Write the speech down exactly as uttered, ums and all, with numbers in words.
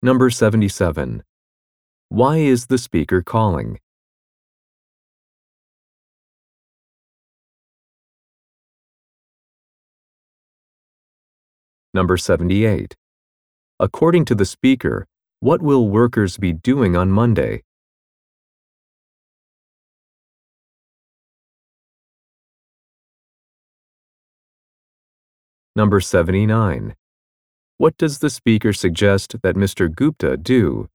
Number seventy-seven. Why is the speaker calling? Number seventy-eight. According to the speaker, what will workers be doing on Monday? Number seventy-nine. What does the speaker suggest that Mister Gupta do?